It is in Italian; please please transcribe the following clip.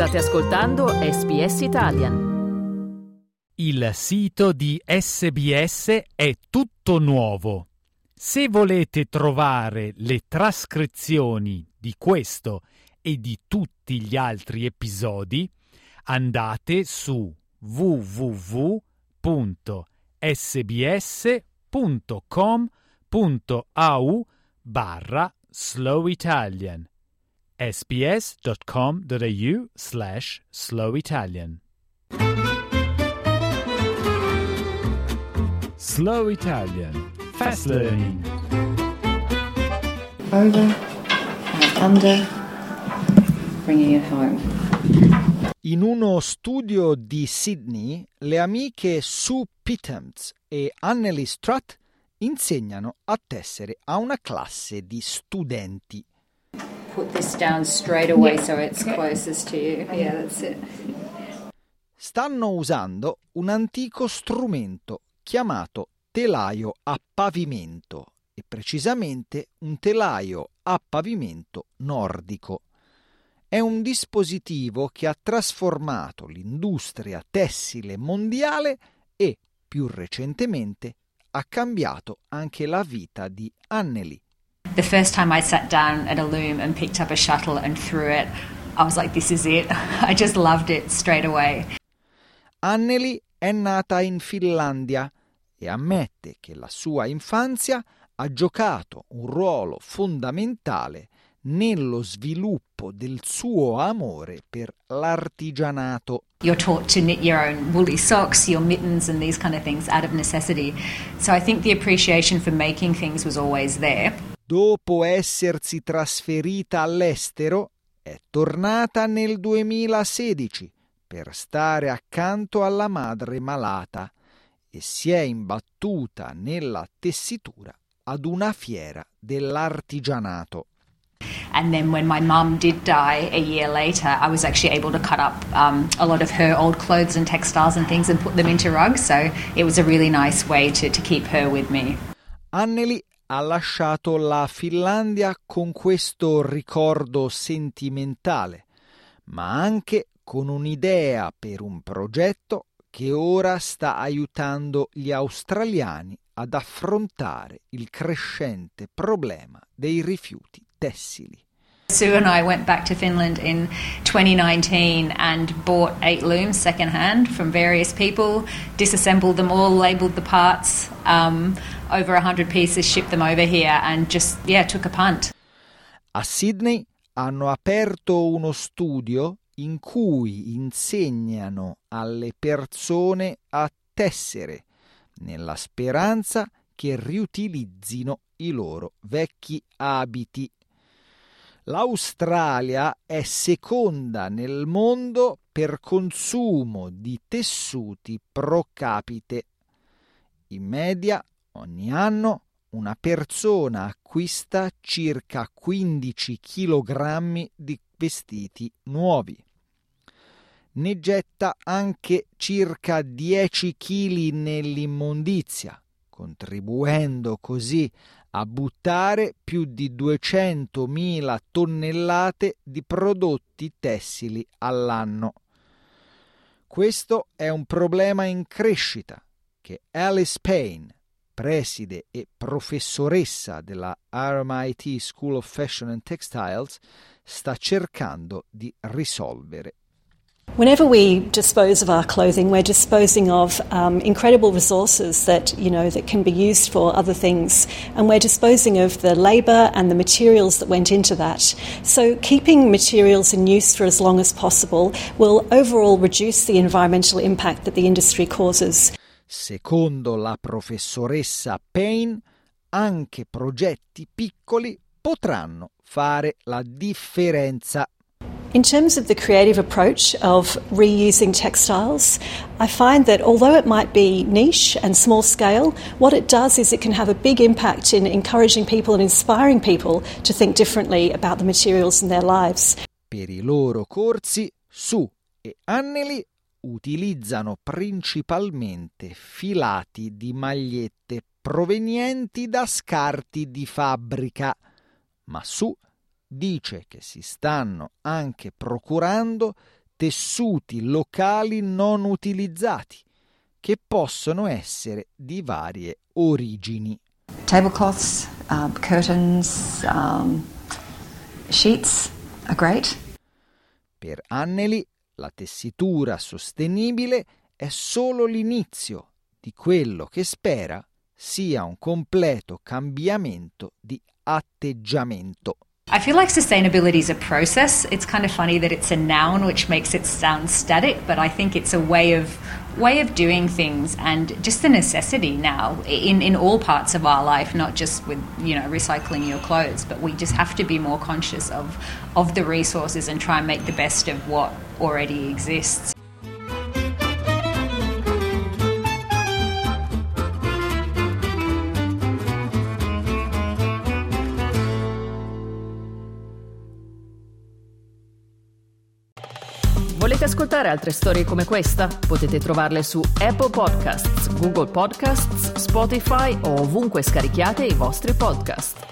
State ascoltando SBS Italian. Il sito di SBS è tutto nuovo. Se volete trovare le trascrizioni di questo e di tutti gli altri episodi, andate su www.sbs.com.au/slowitalian sbs.com.au/slowitalian. Slow Italian. Fast learning. Over and under, bringing it home. In uno studio di Sydney, le amiche Sue Pitams e Anneli Strutt insegnano a tessere a una classe di studenti. Put this down straight away so it's closest to you. Yeah, that's it. Stanno usando un antico strumento chiamato telaio a pavimento e precisamente un telaio a pavimento nordico. È un dispositivo che ha trasformato l'industria tessile mondiale e, più recentemente, ha cambiato anche la vita di Anneli. The first time I sat down at a loom and picked up a shuttle and threw it, I was like, this is it. I just loved it straight away. Anneli è nata in Finlandia e ammette che la sua infanzia ha giocato un ruolo fondamentale nello sviluppo del suo amore per l'artigianato. You're taught to knit your own woolly socks, your mittens and these kind of things out of necessity. So I think the appreciation for making things was always there. Dopo essersi trasferita all'estero, è tornata nel 2016 per stare accanto alla madre malata e si è imbattuta nella tessitura ad una fiera dell'artigianato. And then when my mum did die a year later, I was actually able to cut up a lot of her old clothes and textiles and things and put them into rugs. So it was a really nice way to keep her with me. Anneli ha lasciato la Finlandia con questo ricordo sentimentale, ma anche con un'idea per un progetto che ora sta aiutando gli australiani ad affrontare il crescente problema dei rifiuti tessili. Sue and I went back to Finland in 2019 and bought 8 looms secondhand from various people, disassembled them all, labelled the parts, over 100 pieces, shipped them over here and just, took a punt. A Sydney hanno aperto uno studio in cui insegnano alle persone a tessere, nella speranza che riutilizzino i loro vecchi abiti. L'Australia è seconda nel mondo per consumo di tessuti pro capite. In media, ogni anno, una persona acquista circa 15 kg di vestiti nuovi. Ne getta anche circa 10 kg nell'immondizia, contribuendo così a buttare più di 200.000 tonnellate di prodotti tessili all'anno. Questo è un problema in crescita che Alice Payne, preside e professoressa della RMIT School of Fashion and Textiles, sta cercando di risolvere. Whenever we dispose of our clothing, we're disposing of incredible resources that can be used for other things, and we're disposing of the labour and the materials that went into that. So keeping materials in use for as long as possible will overall reduce the environmental impact that the industry causes. Secondo la professoressa Payne, anche progetti piccoli potranno fare la differenza. In terms of the creative approach of reusing textiles, I find that although it might be niche and small scale, what it does is it can have a big impact in encouraging people and inspiring people to think differently about the materials in their lives. Per i loro corsi, Sue e Anneli utilizzano principalmente filati di magliette provenienti da scarti di fabbrica, ma Sue dice che si stanno anche procurando tessuti locali non utilizzati, che possono essere di varie origini. Tablecloths, curtains, sheets are great. Per Anneli, la tessitura sostenibile è solo l'inizio di quello che spera sia un completo cambiamento di atteggiamento. I feel like sustainability is a process. It's kind of funny that it's a noun, which makes it sound static, but I think it's a way of doing things and just a necessity now in all parts of our life, not just with, recycling your clothes, but we just have to be more conscious of the resources and try and make the best of what already exists. Volete ascoltare altre storie come questa? Potete trovarle su Apple Podcasts, Google Podcasts, Spotify o ovunque scarichiate i vostri podcast.